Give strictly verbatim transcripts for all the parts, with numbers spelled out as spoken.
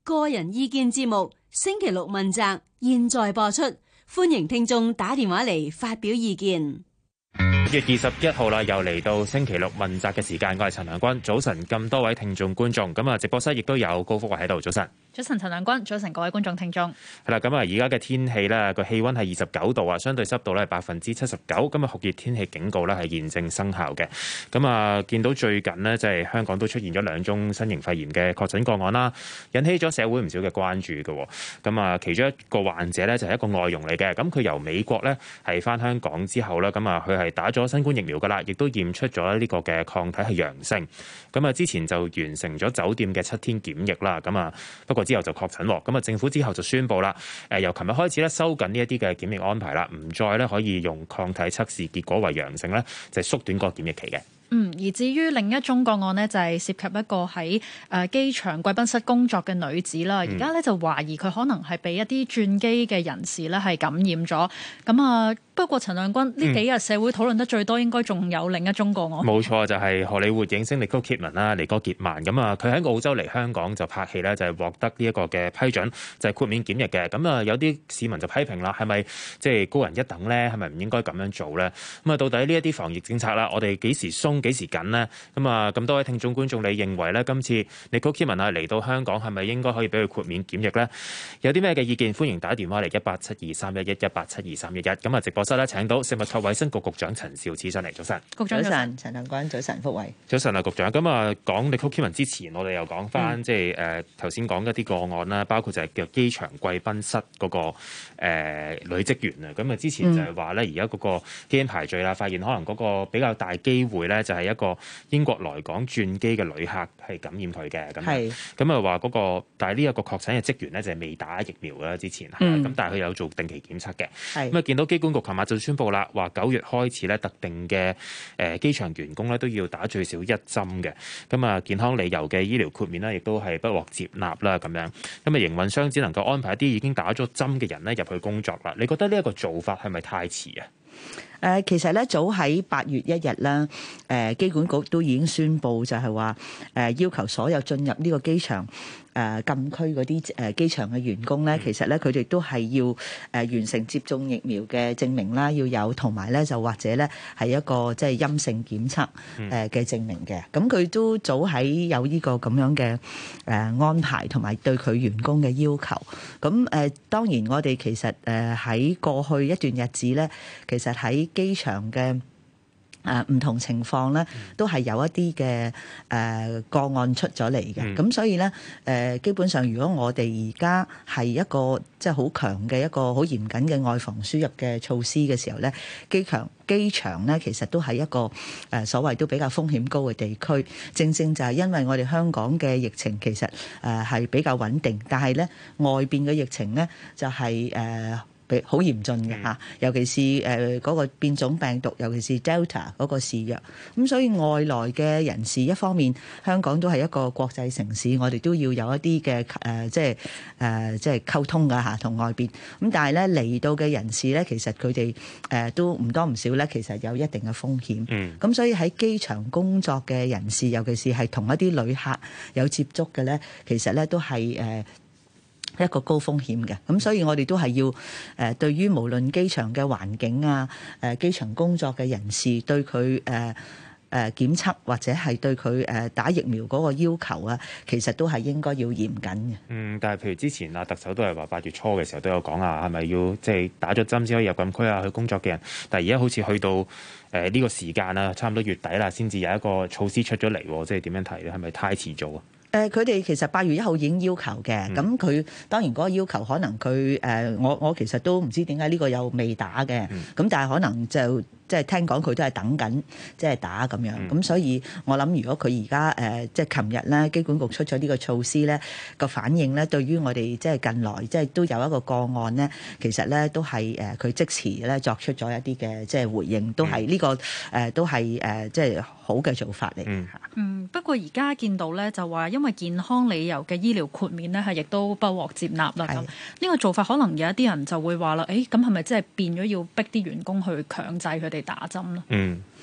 個人意見節目星期六問責，現在播出，歡迎聽眾打電話嚟發表意見。 月二十一號啦，又嚟到星期六問責嘅時間，我係陳良君。早晨，咁多位聽眾觀眾，咁啊直播室亦都有高福華喺度。早晨， 早晨，陳良君，早晨各位觀眾聽眾。 係啦，咁啊而家嘅天氣咧，個氣溫係二十九度啊，相對濕度咧係百分之七十九。咁啊酷熱天氣警告咧係現正生效嘅。咁啊見到最近呢，即係香港都出現咗兩宗新型肺炎嘅確診個案啦，引起咗社會唔少嘅關注嘅。咁啊其中一個患者咧就係一個外傭嚟嘅，咁佢由美國咧係翻香港之後咧，咁啊佢係打咗新冠疫苗噶啦，亦都驗出咗呢個嘅抗體係陽性。咁啊之前就完成咗酒店嘅七天檢疫啦。咁啊不過之後就確診。咁啊政府之後就宣布啦，誒由琴日開始咧收緊呢一啲嘅檢疫安排啦，唔再咧可以用抗體測試結果為陽性咧，就係縮短個檢疫期嘅。 嗯，而至於另一宗個案呢，就係涉及一個喺誒機場貴賓室工作嘅女子啦。而家咧就懷疑佢可能係被一啲轉機嘅人士咧係感染咗。咁啊，不過陳亮君呢幾日社會討論得最多，應該仲有另一宗個案。冇、 嗯、錯，就係、是、荷里活影星尼哥傑曼啦，尼哥傑曼。咁啊，佢喺澳洲嚟香港就拍戲咧，就係獲得呢一個嘅批准，就係豁免檢疫嘅。咁啊，有啲市民就批評啦，係咪即係高人一等咧？係咪唔應該咁樣做咧？咁啊，到底呢一啲防疫政策啦，我哋幾時鬆？幾時緊呢？咁啊，咁多位聽眾觀眾，你認為咧，今次尼哥傑曼啊嚟到香港，係咪應該可以俾佢豁免檢疫呢？有啲咩嘅意見？歡迎打電話嚟一八七二三一一一八七二三一一。咁啊，直播室咧請到食物及衛生局局長陳肇始上嚟。早晨， 局長早晨，陳亮君早晨，福慧早晨啊，局長。咁啊，講尼哥傑曼之前，我哋又講翻、嗯、即係誒頭先講一啲個案啦，包括就係叫機場貴賓室嗰、那個誒、呃、女職員啊。咁啊，之前就係話咧，而家嗰個基因排序啦，發現可能嗰個比較大機會咧，就係一個英國來港轉機嘅旅客係感染佢嘅。咁咁啊話嗰個，但係呢一個確診嘅職員咧就係未打疫苗啦，之前，咁、嗯、但係佢有做定期檢測嘅。咁啊見到機管局琴日就宣布啦，話九月開始咧特定嘅誒機場員工咧都要打最少一針嘅。咁啊健康理由嘅醫療豁免咧亦都係不獲接納啦咁樣。咁啊營運商只能夠安排一啲已經打咗針嘅人咧入去工作啦。你覺得呢一個做法係咪太遲啊？ 誒、呃、其實咧早喺八月一日啦，誒、呃、機管局都已經宣布就係話誒要求所有進入呢個機場誒、呃、禁區嗰啲誒機場嘅員工咧，其實咧佢哋都係要誒、呃、完成接種疫苗嘅證明啦，要有同埋咧就或者咧係一個即係陰性檢測誒嘅證明嘅。咁佢都早喺有呢個咁樣嘅誒、呃、安排同埋對佢員工嘅要求。咁誒、呃、當然我哋其實誒喺、呃、過去一段日子咧，其實喺機場嘅誒唔同情況咧，都係有一啲嘅誒個案出咗嚟嘅。咁、嗯、所以咧誒、呃，基本上如果我哋而家係一個即係好強嘅一個好嚴謹嘅外防輸入嘅措施嘅時候咧，機場機場咧其實都係一個誒、呃、所謂都比較風險高嘅地區。正正就係因為我哋香港嘅疫情其實誒係、呃、比較穩定，但係咧外邊嘅疫情咧就係、是、誒。呃好嚴峻嘅嚇，尤其是誒嗰個變種病毒，尤其是 Delta 嗰個肆虐。咁所以外來嘅人士，一方面香港都係一個國際城市，我哋都要有一啲嘅誒，即係誒，即係溝通㗎嚇，同外邊。咁但係咧嚟到嘅人士咧，其實佢哋誒都唔多唔少咧，其實有一定嘅風險。嗯。咁所以喺機場工作嘅人士，尤其是係同一啲旅客有接觸嘅咧，其實咧都係誒一個高風險嘅，咁所以我哋都係要誒對於無論機場嘅環境啊，誒機場工作嘅人士對佢誒誒檢測或者係對佢誒打疫苗嗰個要求啊，其實都係應該要嚴謹嘅。嗯， 但係譬如之前啊，特首都係話八月初嘅時候都有講啊，係咪要即係打咗針先可以入禁區啊？去工作嘅人，但係而家好似去到誒呢個時間啊，差唔多月底啦，先至有一個措施出咗嚟，即係點樣睇咧？係咪太遲做啊？ 誒佢哋其實八月一號已經要求嘅，咁、嗯、佢當然嗰個要求可能佢誒、呃、我我其實都唔知點解呢個又未打嘅，咁、嗯、但係可能就即係聽講佢都係等緊即係打咁樣，咁、嗯、所以我諗如果佢而家誒即係琴日咧機管局出咗呢個措施咧，個反應咧對於我哋即係近來即係都有一個個案咧，其實咧都係誒佢即時咧作出咗一啲嘅即係回應，都係呢、呢個誒、呃、都係誒即係好嘅做法嚟嘅嚇。 嗯，不過而家見到咧就話因為健康理由嘅醫療豁免咧係亦都不獲接納啦，咁呢個做法可能有一啲人就會話啦，誒咁係咪即係變咗要逼啲員工去強制佢哋打針咧？ 嗯，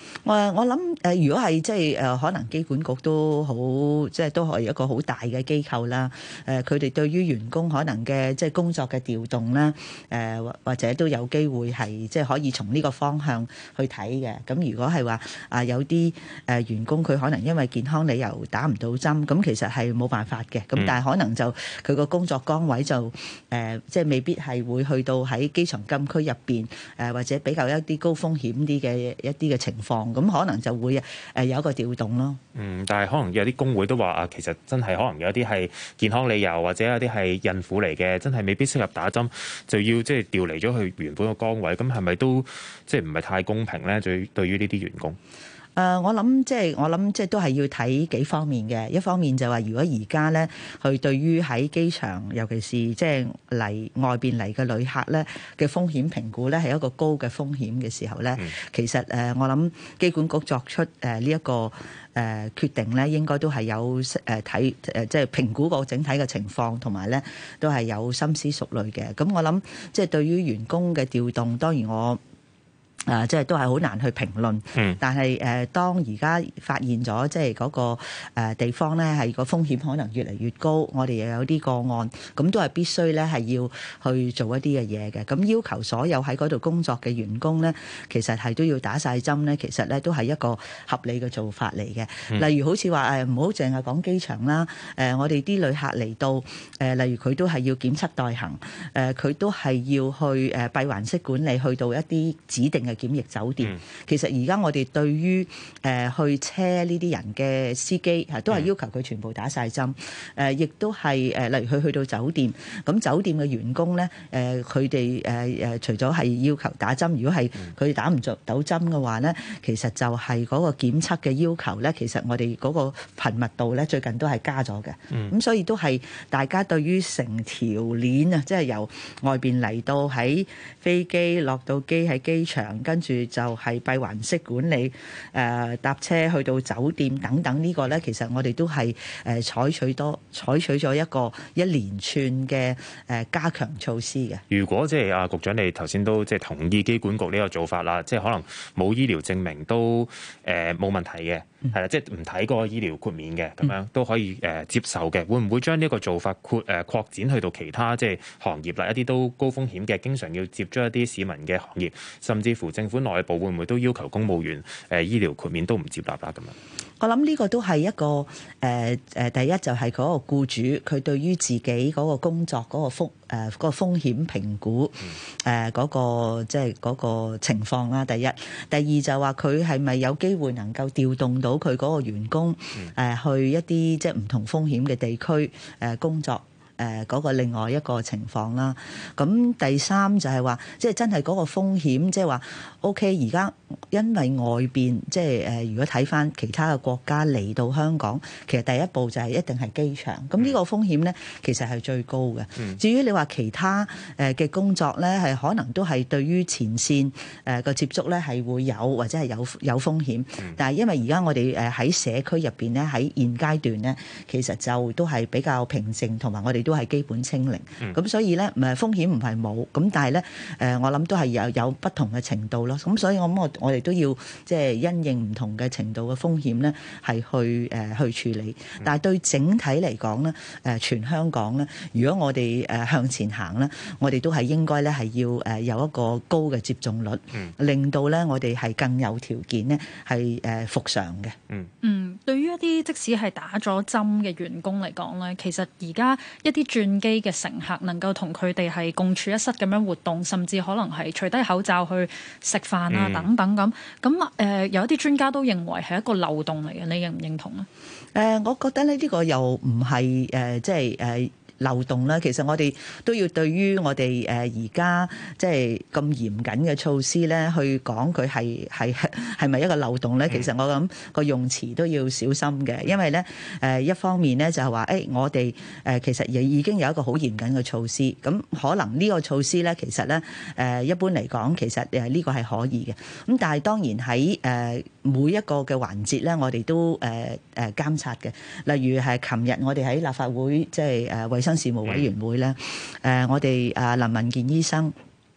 我我諗誒，如果係即係誒，可能機管局都好，即係都係一個好大嘅機構啦。誒，佢哋對於員工可能嘅即係工作嘅調動啦，誒或或者都有機會係即係可以從呢個方向去睇嘅。咁如果係話啊有啲誒員工佢可能因為健康理由打唔到針，咁其實係冇辦法嘅。咁、嗯、但係可能就佢個工作崗位就誒即係未必係會去到喺機場禁區入邊誒，或者比較一啲高風險啲嘅一啲嘅情況，咁可能就會誒有一個調動咯。 嗯，但係可能有啲工會都話啊，其實真係可能有啲係健康理由，或者有啲係孕婦嚟嘅，真係未必適合打針，就要即係調離咗去原本個崗位。咁係咪都即係唔係太公平咧？對對於呢啲員工？ 誒、呃，我諗即係我諗即係都係要睇幾方面嘅。一方面就話，如果而家咧，佢對於喺機場，尤其是即係嚟外邊嚟嘅旅客咧嘅風險評估咧，係一個高嘅風險嘅時候咧，嗯、其實誒、呃，我諗機管局作出誒呢一個誒、呃、決定咧，應該都係有誒睇誒即係評估過整體嘅情況，同埋咧都係有深思熟慮嘅。咁我諗即係對於員工嘅調動，當然我。誒、呃，即係都係好難去評論。嗯。但係誒、呃，當而家發現咗，即係嗰、那個、呃、地方咧，係個風險可能越嚟越高，我哋又有啲個案，咁都係必須咧係要去做一啲嘅嘢嘅。咁要求所有喺嗰度工作嘅員工咧，其實係都要打晒針咧。其實咧都係一個合理嘅做法嚟嘅。嗯、例如好似話誒，唔好淨係講機場啦。誒、呃，我哋啲旅客嚟到誒、呃，例如佢都係要檢測待行。誒、呃，佢都係要去誒閉環式管理，去到一啲指定嘅檢疫酒店，嗯、其實而家我哋對於誒、呃、去車呢啲人嘅司機，係都係要求佢全部打晒針。誒、呃，亦都係誒，例如佢去到酒店，咁酒店嘅員工咧，誒佢哋誒誒，除咗係要求打針，如果係佢哋打唔着到針嘅話咧，其實就係嗰個檢測嘅要求咧，其實我哋嗰個頻密度咧，最近都係加咗嘅。咁、嗯、所以都係大家對於成條鏈啊，即係由外邊嚟到喺飛機落到機喺機場。跟住就係閉環式管理，誒、呃、搭車去到酒店等等，這個、呢個咧，其實我哋都係誒、呃、採取多採取咗一個一連串嘅誒、呃、加強措施嘅。 如果即係啊，局長你頭先都即係同意機管局呢個做法啦，即係可能冇醫療證明都誒冇、呃、問題嘅，係啦、嗯，即係唔睇嗰個醫療豁免嘅，咁樣都可以誒、呃、接受嘅。會唔會將呢個做法擴誒擴展去到其他即係行業啦？一啲都高風險嘅，經常要接觸一啲市民嘅行業，甚至乎政府內部會唔會都要求公務員誒、呃、醫療豁免都唔接納啦？咁樣， 我諗呢個都係一個誒誒、呃，第一就係嗰個僱主佢對於自己嗰個工作嗰個風誒嗰個風險評估誒嗰、呃嗰個即係嗰個情況啦。第一，第二就話佢係咪有機會能夠調動到佢嗰個員工誒、呃、去一啲即係唔同風險嘅地區誒、呃、工作。誒嗰、呃那個另外一個情況啦，咁第三就係話，即係真係嗰個風險，即係話 OK，而家因為外邊即係誒，如果睇返其他嘅國家嚟到香港，其實第一步就係一定係機場，咁呢個風險咧，其實係最高嘅。嗯、至於你話其他誒嘅工作咧，係可能都係對於前線誒個接觸咧係會有或者係有有風險，嗯、但係因為而家我哋誒喺社區入邊咧，喺現階段咧，其實就都係比較平靜，同埋我哋都係基本清零，咁、嗯、所以咧，唔係風險唔係冇，咁但係咧，誒我諗都係有有不同嘅程度咯。咁所以我諗我我哋都要即係因應唔同嘅程度嘅風險咧，係去誒、呃、去處理。但係對整體嚟講咧，誒、呃、全香港咧，如果我哋誒向前行咧，我哋都係應該咧係要誒有一個高嘅接種率，嗯、令到咧我哋係更有條件咧係誒復常嘅。嗯嗯，對於一啲即使係打咗針嘅員工嚟講咧，其實而家一啲轉機嘅乘客能夠同佢哋係共處一室咁樣活動，甚至可能係除低口罩去食飯啊等等咁。咁誒、嗯呃、有一啲專家都認為係一個漏洞嚟嘅，你認唔認同啊？ 誒、呃，我覺得咧呢個又唔係誒，即係誒。呃漏洞啦，其實我哋都要對於我哋誒而家即係咁嚴謹嘅措施咧，去講佢係係係咪一個漏洞咧？其實我諗個用詞都要小心嘅，因為咧誒一方面咧就係話誒我哋誒其實亦已經有一個好嚴謹嘅措施，咁可能呢個措施咧其實咧誒一般嚟講其實誒呢個係可以嘅，咁但係當然喺誒每一個嘅環節咧，我哋都誒誒監察嘅，例如係琴日我哋喺立法會即係誒衛生事務委員會咧，誒、呃、我哋啊林文健醫生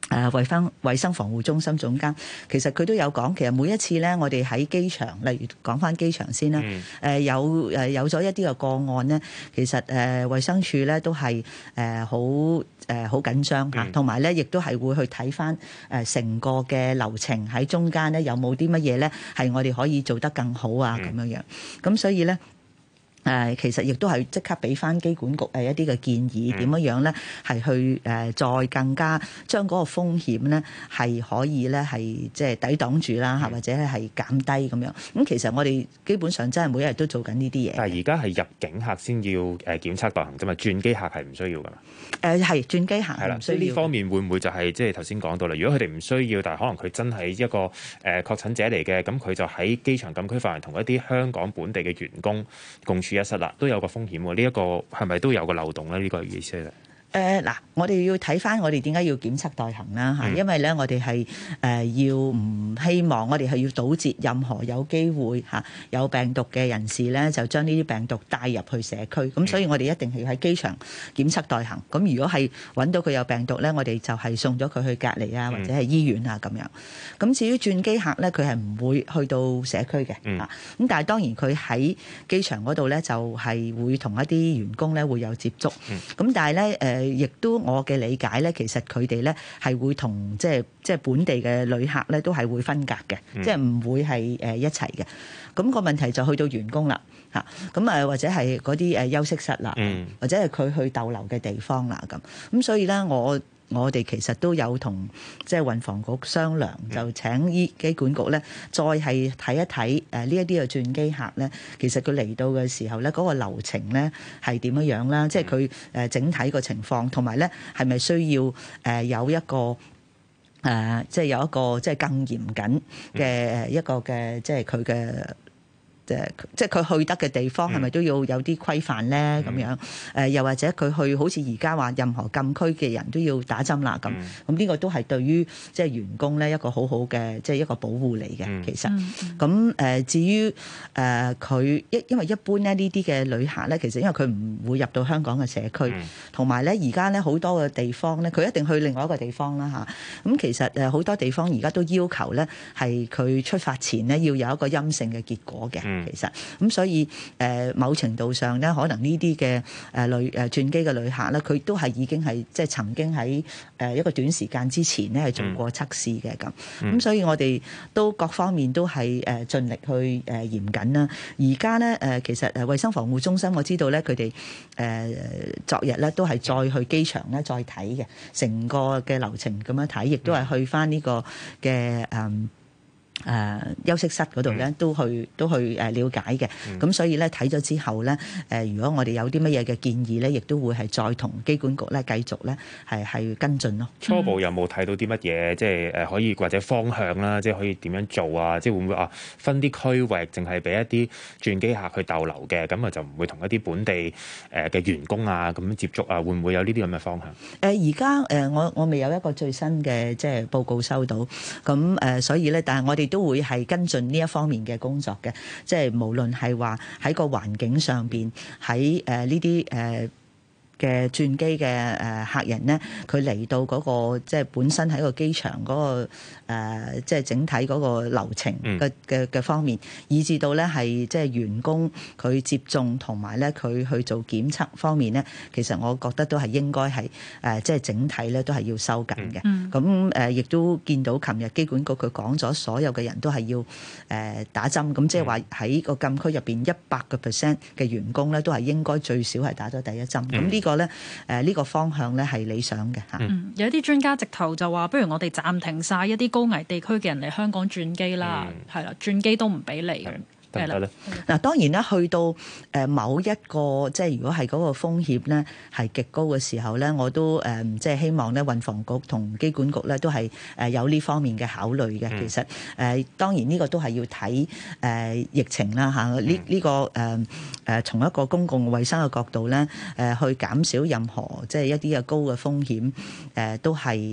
誒衞生衞生防護中心總監，其實佢都有講，其實每一次咧，我哋喺機場，例如講翻機場先啦，誒、 嗯呃、有誒有咗一啲嘅個案咧，其實誒、呃、衛生署咧都係誒好誒好緊張嚇，同埋咧亦都係會去睇翻誒成個嘅流程喺中間咧有冇啲乜嘢咧係我哋可以做得更好啊咁樣樣，咁所以咧。誒其實亦都係即刻俾翻機管局誒一啲嘅建議，點樣樣咧係去誒再更加將嗰個風險咧係可以咧係即係抵擋住啦，嚇或者係減低咁樣。咁其實我哋基本上真係每一日都做緊呢啲嘢。 但係而家係入境客先要誒檢測代行啫嘛，轉機客係唔需要㗎嘛？ 誒係轉機客係啦， 唔需要。 所以呢方面會唔會就係即係頭先講到啦？如果佢哋唔需要，但係可能佢真係一個誒確診者嚟嘅，咁佢就喺機場禁區範圍同一啲香港本地嘅員工共處一室啦，都有個風險喎。呢一個係咪都有個漏洞咧？呢個意思咧？ 誒嗱、呃，我哋要睇翻我哋點解要檢測代行啦嚇，嗯、因為咧我哋係誒要唔希望我哋係要堵截任何有機會嚇有病毒嘅人士咧，就將呢啲病毒帶入去社區。咁、嗯、所以我哋一定係要喺機場檢測代行。咁如果係揾到佢有病毒咧，我哋就係送咗佢去隔離啊，或者係醫院啊咁樣。咁至於轉機客咧，佢係唔會去到社區嘅嚇。咁、嗯、但係當然佢喺機場嗰度咧，就係會同一啲員工咧會有接觸。咁、嗯、但係咧誒。呃誒，亦都我嘅理解咧，其實佢哋咧係會同即係即係本地嘅旅客咧，都係會分隔嘅，嗯、即係唔會係誒一齊嘅。咁個問題就去到員工啦，嚇咁誒，或者係嗰啲誒休息室啦，嗯、或者係佢去逗留嘅地方啦，咁咁所以咧我。我哋其實都有同即係運房局商量，就請醫機管局咧，再係睇一睇誒呢一啲嘅轉機客咧，其實佢嚟到嘅時候咧，嗰個流程咧係點樣樣啦？即係佢誒整體個情況，同埋咧係咪需要誒有一個誒即係有一個即係更嚴謹嘅一個嘅即係佢嘅。即係佢去得嘅地方係咪都要有啲規範咧？咁樣誒，又或者佢去好似而家話任何禁區嘅人都要打針啦咁。咁呢個都係對於即係員工咧一個好好嘅即係一個保護嚟嘅。其實咁誒，至於誒佢一因為一般咧呢啲嘅旅客咧，其實因為佢唔會入到香港嘅社區，同埋咧而家咧好多嘅地方咧，佢一定去另外一個地方啦嚇。咁其實誒好多地方而家都要求咧係佢出發前咧要有一個陰性嘅結果嘅。其實咁所以誒、呃、某程度上咧，可能呢啲嘅誒旅誒轉機嘅旅客咧，佢都係已經係即係曾經喺誒一個短時間之前咧係做過測試嘅咁。咁、嗯、所以我哋都各方面都係誒盡力去誒嚴謹啦。而家咧誒其實誒衞生防護中心我知道咧，佢哋誒昨日咧都係再去機場咧再睇嘅成個嘅流程咁樣睇，亦都係去返呢個嘅誒。嗯誒、呃、休息室嗰度咧，都去都去誒了解嘅。咁、嗯、所以咧睇咗之後咧，誒、呃、如果我哋有啲乜嘢嘅建議咧，亦都會係再同機管局咧繼續咧係係跟進咯。 初步有冇睇到啲乜嘢，即係誒可以或者方向啦，即係可以點樣做啊？即係會唔會啊分啲區域，淨係俾一啲轉機客去逗留嘅，咁啊就唔會同一啲本地誒嘅員工啊咁接觸啊？會唔會有呢啲咁嘅方向？誒而家誒我我未有一個最新嘅即係報告收到，咁誒、呃、所以咧，但係我哋都會係跟進呢一方面嘅工作嘅，即係無論係話喺個環境上邊，喺誒呢啲誒嘅轉機嘅誒客人咧，佢嚟到嗰個即係本身喺個機場嗰個誒即係整體嗰個流程嘅嘅嘅方面，以至到咧係即係員工佢接種同埋咧佢去做檢測方面咧，其實我覺得都係應該係誒即係整體咧都係要收緊嘅。咁誒亦都見到琴日機管局佢講咗，所有嘅人都係要誒打針，咁即係話喺個禁區入邊一百個 percent 嘅員工咧都係應該最少係打咗第一針。咁呢個咧誒呢個方向咧係理想嘅嚇。 嗯，有一啲專家直頭就話，不如我哋暫停晒一啲高危地區嘅人嚟香港轉機啦，係啦、嗯，轉機都唔俾嚟。 得唔得咧？ 嗱，當然啦，去到誒某一個即係如果係嗰個風險咧係極高嘅時候咧，我都誒即係希望咧運房局同機管局咧都係誒有呢方面嘅考慮嘅。嗯、其實誒當然呢個都係要睇誒疫情啦嚇。呢呢、呢個誒誒從一個公共衛生嘅角度咧誒去減少任何即係一啲嘅高嘅風險誒都係。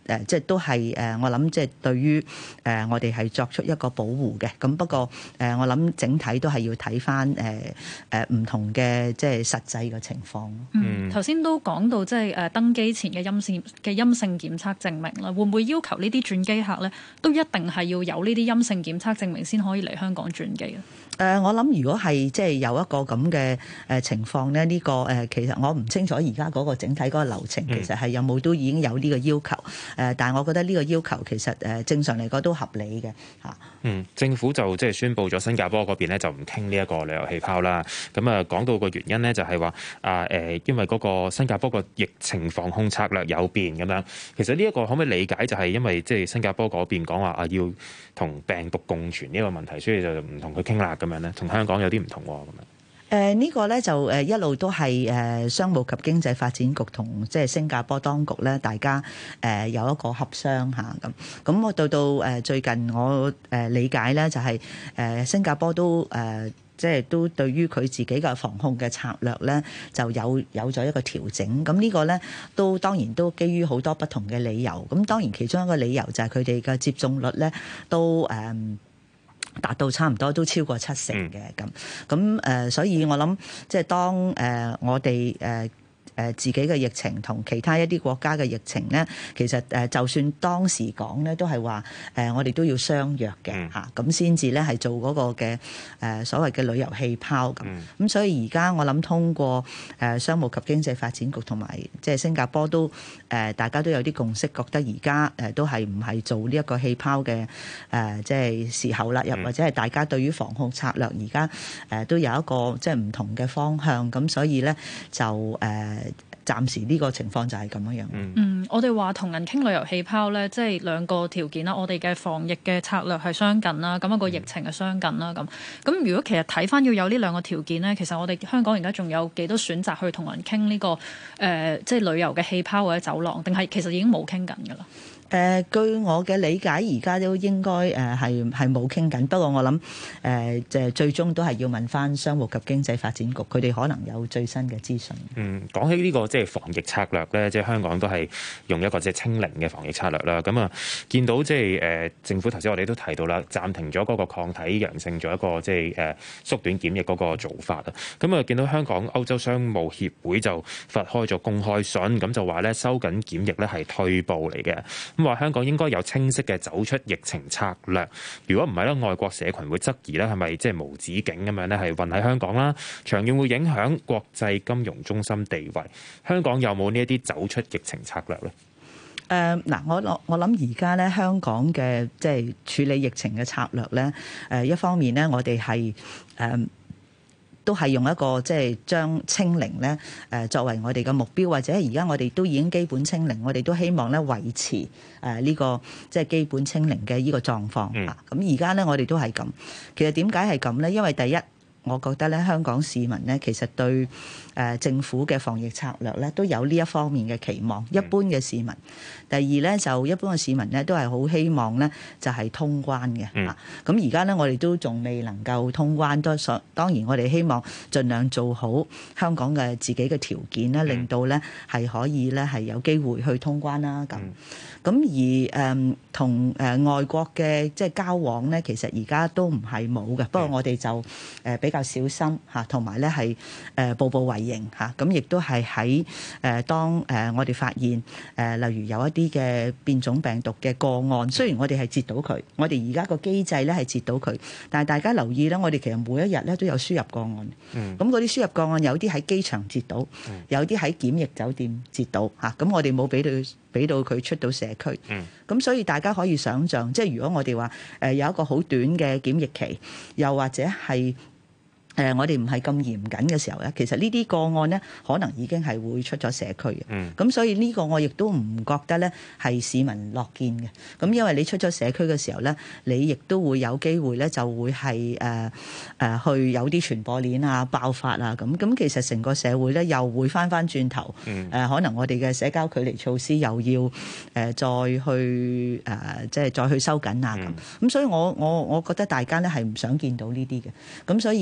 誒即係都係誒我諗即係對於誒我哋係作出一個保護嘅。咁不過誒我諗整體都係要睇翻誒誒唔同嘅即係實際嘅情況。 嗯，頭先都講到即係誒登機前嘅陰性嘅陰性檢測證明啦，會唔會要求呢啲轉機客咧都一定係要有呢啲陰性檢測證明先可以嚟香港轉機咧？ 誒、呃，我諗如果係即係有一個咁嘅誒情況咧，呢、這個誒、呃、其實我唔清楚而家嗰個整體嗰個流程，其實係有冇都已經有呢個要求。誒、呃，但係我覺得呢個要求其實誒、呃、正常嚟講都合理嘅嚇。 嗯，政府就即係宣布咗新加坡嗰邊咧就唔傾呢一個旅遊氣泡啦。咁啊講到個原因咧就係話啊誒，因為嗰個新加坡個疫情防控策略有變咁樣。其實呢一個可唔可以理解就係因為即係新加坡嗰邊講話啊要同病毒共存呢個問題，所以就唔同佢傾啦咁樣咧，同香港有啲唔同喎咁樣。 誒、呃這個、呢個咧就誒一路都係誒商務及經濟發展局同即係新加坡當局咧，大家誒有一個協商嚇咁。咁我到到誒最近我誒理解咧就係誒新加坡都誒即係都對於佢自己嘅防控嘅策略咧就有有咗一個調整。咁呢個咧都當然都基於好多不同嘅理由。咁當然其中一個理由就係佢哋嘅接種率咧都誒，呃達到差唔多都超過七成嘅咁，咁誒，所以我諗即係當誒我哋誒誒自己嘅疫情同其他一啲國家嘅疫情咧，其實誒就算當時講咧，都係話誒我哋都要相約嘅嚇，咁先至咧係做嗰個嘅誒所謂嘅旅遊氣泡咁。咁、嗯、所以而家我諗通過誒商務及經濟發展局同埋即係新加坡都誒大家都有啲共識，覺得而家誒都係唔係做呢一個氣泡嘅誒即係時候啦，又或者係大家對於防控策略而家誒都有一個即係唔同嘅方向，咁所以咧就誒。暫時呢個情況就係咁樣樣。 嗯，我哋話同人傾旅遊氣泡咧，即係兩個條件啦。我哋嘅防疫嘅策略係相近啦，咁一個疫情係相近啦。咁咁如果其實睇翻要有呢兩個條件咧，其實我哋香港而家仲有幾多選擇去同人傾呢個誒，即係旅遊嘅氣泡或者走廊，定係其實已經冇傾緊㗎啦？ 誒、呃，據我嘅理解，而家都應該誒係係冇傾緊。不過我諗誒，即、呃、係最終都係要問翻商務及經濟發展局，佢哋可能有最新嘅資訊。 嗯，講起呢、這個即係防疫策略咧，即係香港都係用一個即係清零嘅防疫策略啦。咁啊，見到即係誒政府頭先我哋都提到啦，暫停咗嗰個抗體陽性做一個即係誒縮短檢疫嗰個做法啊。咁啊，見到香港歐洲商務協會就發開咗公開信，咁就話咧收緊檢疫咧係退步嚟嘅。咁話香港應該有清晰嘅走出疫情策略，如果唔係咧，外國社群會質疑咧係咪即係無止境咁樣咧係混喺香港啦，長遠會影響國際金融中心地位。香港有冇呢一啲走出疫情策略咧？ 誒嗱、呃，我我我諗而家咧香港嘅即係處理疫情嘅策略咧，誒、呃、一方面咧我哋係誒。都係用一個即係將清零咧誒作為我哋嘅目標，或者而家我哋都已經基本清零，我哋都希望咧維持誒呢個即係基本清零嘅呢個狀況啊。咁而家咧我哋都係咁。其實點解係咁咧？因為第一，我覺得咧香港市民咧其實對誒政府嘅防疫策略咧都有呢一方面嘅期望。一般嘅市民，第二咧就一般嘅市民咧都係好希望咧就係通關嘅嚇。咁而家咧我哋都仲未能夠通關，都所當然我哋希望盡量做好香港嘅自己嘅條件咧，令到咧係可以咧係有機會去通關啦咁。咁而誒同誒外國嘅即係交往咧，其實而家都唔係冇嘅，不過我哋就誒比較小心嚇，同埋咧係誒步步為營嚇。咁亦都係喺誒當誒我哋發現誒例如有一啲嘅變種病毒嘅個案，雖然我哋係截到佢，我哋而家個機制咧係截到佢，但係大家留意咧，我哋其實每一日咧都有輸入個案。咁嗰啲輸入個案有啲喺機場截到，有啲喺檢疫酒店截到嚇。咁我哋冇俾到俾到佢出到社區。咁、嗯、所以大家可以想像，即係如果我哋話誒有一個好短嘅檢疫期，又或者係誒、呃、我哋唔係咁嚴謹嘅時候咧，其實呢啲個案咧可能已經係會出咗社區嘅。咁、嗯、所以呢個我亦都唔覺得咧係市民樂見嘅。咁因為你出咗社區嘅時候咧，你亦都會有機會咧就會係誒誒去有啲傳播鏈啊爆發啊咁。咁其實成個社會咧又會翻翻轉頭。誒、嗯呃、可能我哋嘅社交距離措施又要誒、呃、再去誒、呃、即係再去收緊啊咁。咁、嗯、所以我我我覺得大家咧係唔想見到呢啲嘅。咁所以誒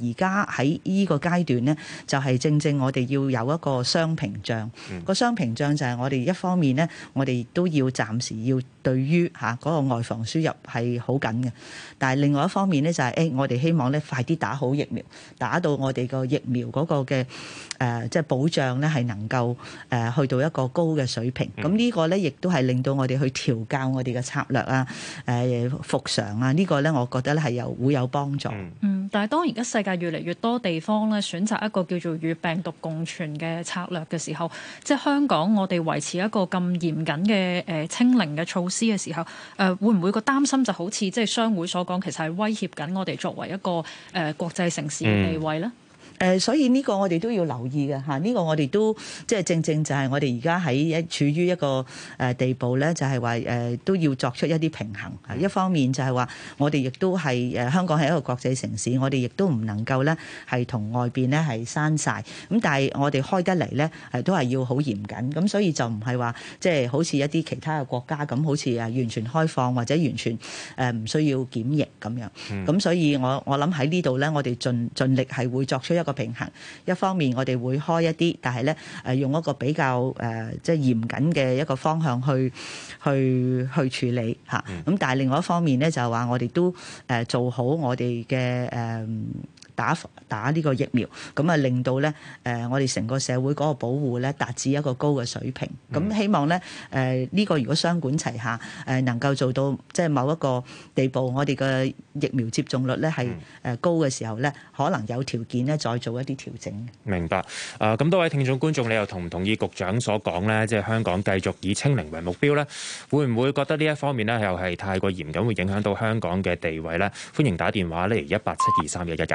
而家喺呢個階段咧，就係、是、正正我哋要有一個雙屏障。嗯、個雙屏障就係我哋一方面咧，我哋都要暫時要對於嚇嗰個外防輸入係好緊嘅，但係另外一方面咧就係、是、誒、欸、我哋希望咧快啲打好疫苗，打到我哋個疫苗嗰個嘅誒即係保障咧係能夠誒、呃、去到一個高嘅水平。咁、嗯、呢個咧亦都係令到我哋去調教我哋嘅策略啊、誒復常啊，呢、這個咧我覺得咧係有會有幫助。 嗯，但係當而家世界越嚟越多地方咧選擇一個叫做與病毒共存嘅策略嘅時候，即係香港我哋維持一個咁嚴謹嘅誒清零嘅措施嘅時候，誒、呃、會唔會個擔心就好似即係商會所講，其實係威脅緊我哋作為一個誒、呃、國際城市嘅地位咧？ 誒、呃，所以呢個我哋都要留意嘅嚇，呢、這個我哋都即係正正就係我哋而家喺一處於一個誒地步咧，就係話誒都要作出一啲平衡。一方面就係話我哋亦都係誒香港係一個國際城市，我哋亦都唔能夠咧係同外邊咧係閂晒。咁但係我哋開得嚟咧係都係要好嚴謹。咁所以就唔係話即係好似一啲其他嘅國家咁，好似誒完全開放或者完全誒唔需要檢疫咁樣。咁、嗯、所以我我諗喺呢度咧，我哋盡盡力係會作出一個平衡。一方面我哋會開一啲，但係咧誒用一個比較誒即係嚴謹嘅一個方向去去去處理嚇。咁、嗯、但係另外一方面咧就係話我哋都誒做好我哋嘅誒打打呢個疫苗，咁啊令到咧誒我哋成個社會嗰個保護咧達至一個高嘅水平。咁、嗯、希望咧誒呢個如果雙管齊下誒能夠做到即係某一個地步，我哋嘅疫苗接種率咧係誒高嘅時候咧，可能有條件咧再做一啲調整。 明白。誒咁多位聽眾觀眾，你又同唔同意局長所講咧？即係香港繼續以清零為目標咧，會唔會覺得呢一方面咧又係太過嚴謹，會影響到香港嘅地位咧？歡迎打電話嚟一八七二三一一一。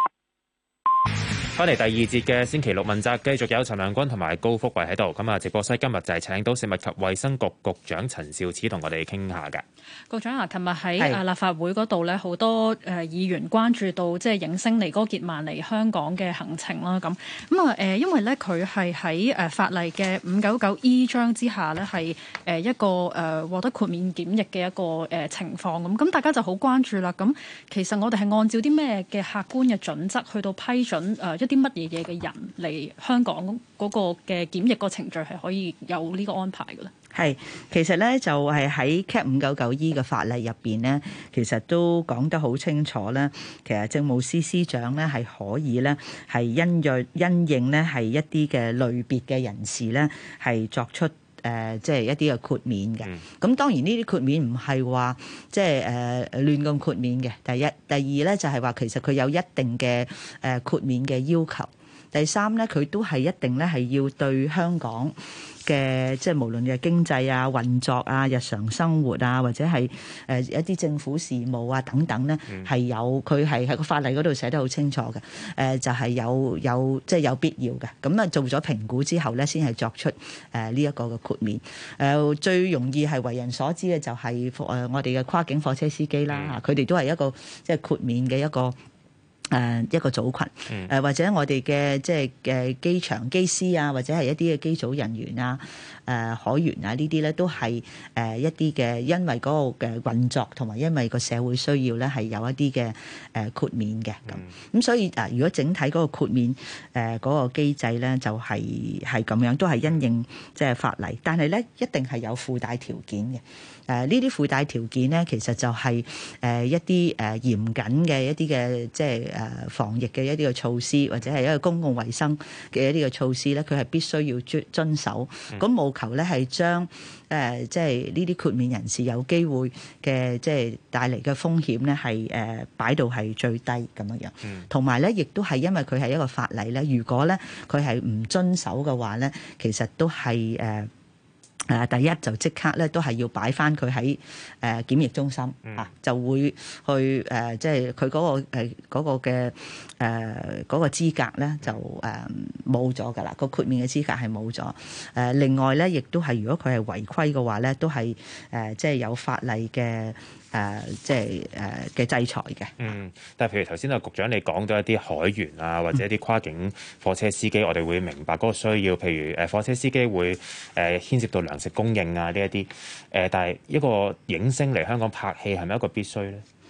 翻嚟第二節嘅星期六問責，繼續有陳亮君同埋高福慧喺度。咁啊，直播室今日就係請到食物及衛生局局長陳肇始同我哋傾下嘅。 局長啊，琴日喺立法會嗰度咧，好多誒議員關注到即係影星尼哥傑曼嚟香港嘅行程啦。咁咁啊誒，因為咧佢係喺誒法例嘅五九九 E 章之下咧，係誒一個誒獲得豁免檢疫嘅一個誒情況咁。咁大家就好關注啦。咁其實我哋係按照啲咩嘅客觀嘅準則去到批准誒一啲乜嘢嘢嘅人嚟香港嗰個嘅檢疫個程序係可以有呢個安排嘅咧？ 係，其實咧就係喺 Cap 五九九 E 嘅法例入邊咧，其實都講得好清楚咧。其實政務司司長咧係可以咧係因約因應咧係一啲嘅類別嘅人士咧係作出誒即係一啲嘅豁免嘅。咁、嗯、當然呢啲豁免唔係話即係誒亂咁豁免嘅。第一，第二咧就係話其實佢有一定嘅誒豁免嘅要求。第三咧佢都係一定咧係要對香港嘅即係無論嘅經濟啊、運作啊、日常生活啊，或者係誒一啲政府事務啊等等咧，係、嗯、有佢係喺個法例嗰度寫得好清楚嘅。誒、呃、就係、是、有有即係、就是、有必要嘅。咁啊做咗評估之後咧，先係作出誒呢一個嘅豁免。誒、呃、最容易係為人所知嘅就係誒我哋嘅跨境貨車司機啦，佢哋、嗯、都係一個即係豁免嘅一個。誒、呃、一個組群，誒、呃、或者我哋嘅即係嘅機場機師啊，或者係一啲嘅機組人員啊、誒、呃、海員啊呢啲咧，都係誒一啲嘅，因為嗰個嘅運作同埋因為個社會需要咧，係有一啲嘅誒豁免嘅咁。咁、嗯、所以啊，如果整體嗰個豁免誒嗰、呃那個機制咧，就係係咁樣，都係因應即係法例，但係咧一定係有附帶條件嘅。誒呢啲附帶條件咧，其實就係、是、誒、呃、一啲誒、呃、嚴謹嘅一啲嘅即係誒、呃、防疫嘅一啲嘅措施，或者係一個公共衛生嘅一啲嘅措施咧，佢係必須要遵遵守。咁務、嗯、求咧係將誒即係呢啲豁免人士有機會嘅即係帶嚟嘅風險咧，係誒擺到係最低咁樣樣。同埋咧，亦都係因為佢係一個法例咧，如果咧佢係唔遵守嘅話咧，其實都係誒。呃誒第一就即刻咧，都係要擺翻佢喺誒檢疫中心、嗯、啊，就會去誒，即係佢嗰個誒嗰個嘅誒嗰個資格咧，就誒冇咗㗎啦，個豁免嘅資格係冇咗。誒另外咧，亦都係如果佢係違規嘅話咧，都係誒即係有法例嘅。誒、呃，即係誒嘅制裁嘅。嗯， 但係譬如頭先啊，局長你講到一啲海員啊，或者一啲跨境貨車司機，嗯、我哋會明白嗰個需要。譬如誒貨車司機會誒、呃、牽涉到糧食供應啊呢一啲。誒、呃，但係一個影星嚟香港拍戲係咪一個必須咧？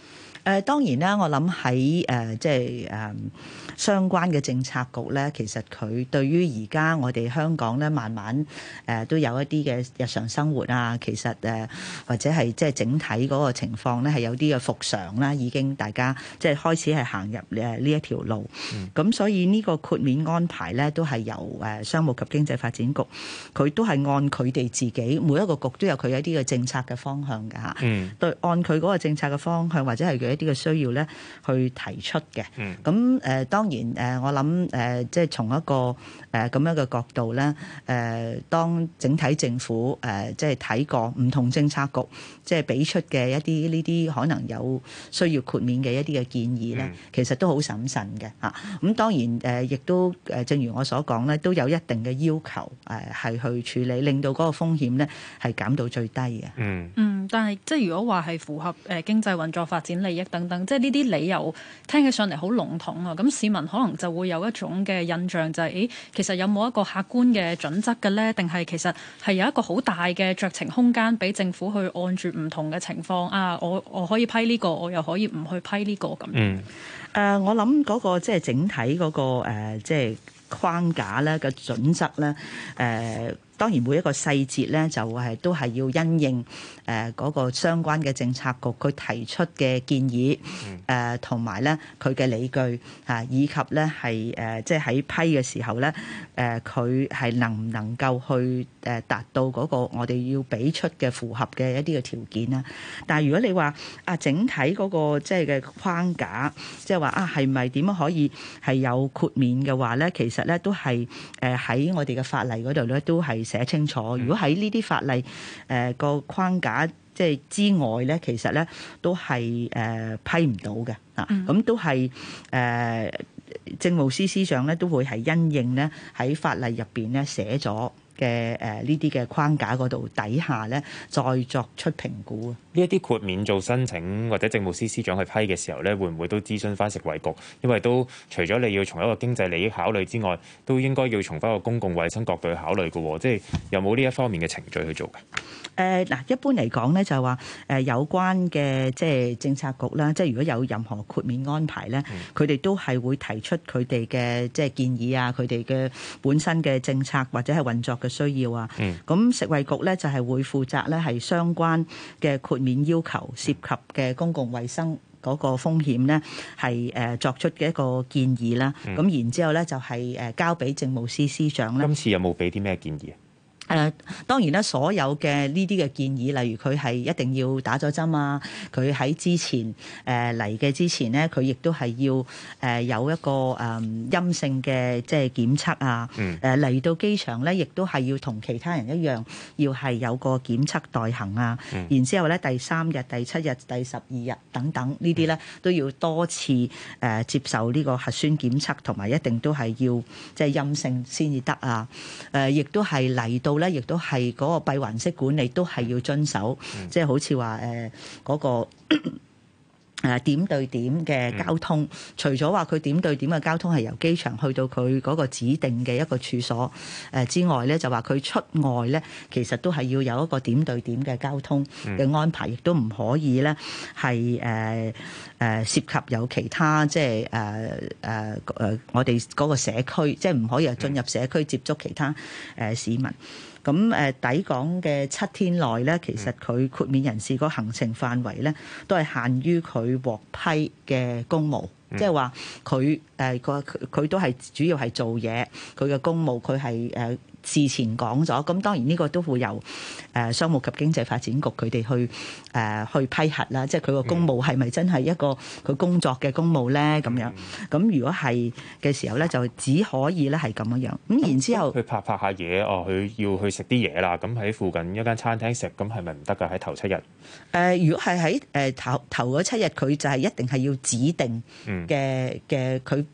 誒當然啦，我諗喺誒即係誒相關嘅政策局咧，其實佢對於而家我哋香港咧，慢慢誒都有一啲嘅日常生活啊，其實誒或者係即係整體嗰個情況咧，係有啲嘅復常啦，已經大家即係開始係行入誒呢一條路。咁、嗯、所以呢個豁免安排咧，都係由誒商務及經濟發展局，佢都係按佢哋自己每一個局都有佢一啲嘅政策嘅方向㗎嚇。嗯。對，按佢嗰個政策嘅方向或者係佢一啲嘅需要咧，去提出嘅。嗯。咁誒、呃、當然誒，我諗誒，即係從一個誒咁樣嘅角度咧，誒、呃、當整體政府誒即係睇過唔同政策局即係俾出嘅一啲呢啲可能有需要豁免嘅一啲嘅建議咧，嗯、其實都好審慎嘅嚇。咁當然誒，亦都誒，正如我所講咧，都有一定嘅要求誒，係去處理，令到嗰個風險咧係減到最低嘅。嗯嗯，但係即係如果話係符合誒經濟運作發展利益等等，即係呢啲理由聽起上嚟好籠統啊。咁市民可能就會有一種嘅印象就係、是，誒其實有冇一個客觀嘅準則嘅咧？定係其實係有一個好大嘅酌情空間俾政府去按住唔同嘅情況啊，我我可以批呢、這個，我又可以唔去批呢、這個咁。嗯，誒、 呃，我諗嗰個即係整體嗰、那個誒，即係框架咧嘅準則咧，誒、呃。當然每一個細節咧，就係都係要因應誒嗰個相關嘅政策局佢提出嘅建議，誒同埋咧佢嘅理據啊，以及咧係誒即係喺批嘅時候咧，誒佢係能唔能夠去誒達到嗰個我哋要俾出嘅符合嘅一啲嘅條件啦。但係如果你話啊整體嗰個即係嘅框架，即係話啊係咪點樣可以係有豁免嘅話咧，其實咧都係誒喺我哋嘅法例嗰度咧都係寫清楚，如果喺呢啲法例誒個、呃、框架即係之外咧，其實咧都係誒、呃、批唔到嘅啊，咁都係誒、呃、政務司司長咧都會係因應咧喺法例入邊咧寫咗嘅誒呢啲嘅框架嗰度底下咧，再作出評估啊。 呢一啲豁免做申請或者政務司司長去批嘅時候咧，會唔會都諮詢翻食衞局？因為都除咗你要從一個經濟利益考慮之外，都應該要從翻個公共衛生角度去考慮嘅喎。即係有冇呢一方面嘅程序去做嘅？ 誒嗱、呃，一般嚟講咧，就係話誒有關嘅即係政策局啦，即係如果有任何豁免安排咧，佢哋、嗯、都係會提出佢哋嘅即係建議啊，佢哋嘅本身嘅政策或者係運作嘅需要啊。咁、嗯、食衞局咧就係會負責咧係相關嘅豁免要求涉及嘅公共衛生嗰個風險咧，係誒作出嘅一個建議啦。咁、嗯、然之後咧就係誒交俾政務司司長咧。 今次有冇俾啲咩建議啊？ 誒、呃、當然啦，所有嘅呢啲嘅建議，例如佢係一定要打咗針啊，佢喺之前誒嚟嘅之前咧，佢亦都係要誒、呃、有一個誒、呃、陰性嘅即係檢測啊。誒嚟、嗯、到機場咧，亦都係要同其他人一樣，要係有個檢測代行啊。嗯、然之後咧，第三日、第七日、第十二日等等呢啲咧，都要多次誒、呃、接受呢個核酸檢測，同埋一定都係要即係陰性先至得啊。誒、呃，亦都係嚟到。咧，亦都係嗰個閉環式管理都係要遵守，嗯、即係好似話誒嗰個誒點對點嘅交通，嗯、除咗話佢點對點嘅交通係由機場去到佢嗰個指定嘅一個處所誒之外咧，就話佢出外咧，其實都係要有一個點對點嘅交通嘅安排，亦都唔可以咧係誒誒涉及有其他即係誒誒誒我哋嗰個社區，即係唔可以進入社區接觸其他誒、呃、市民。咁誒抵港嘅七天內咧，其實佢豁免人士個行程範圍咧，都係限於佢獲批嘅公務，嗯、即係話佢誒個佢都係主要係做嘢，佢嘅公務佢係誒事前講咗，咁當然呢個都會由誒商務及經濟發展局佢哋去誒去批核啦，即係佢個公務係咪真係一個佢工作嘅公務咧？咁樣咁如果係嘅時候咧，就只可以咧係咁樣樣。咁然之後佢拍拍下嘢，哦，佢要去食啲嘢啦，咁喺附近一間餐廳食，咁係咪唔得㗎？喺頭七日？誒、 呃，如果係喺誒頭頭嗰七日，佢就係一定係要指定嘅嘅佢。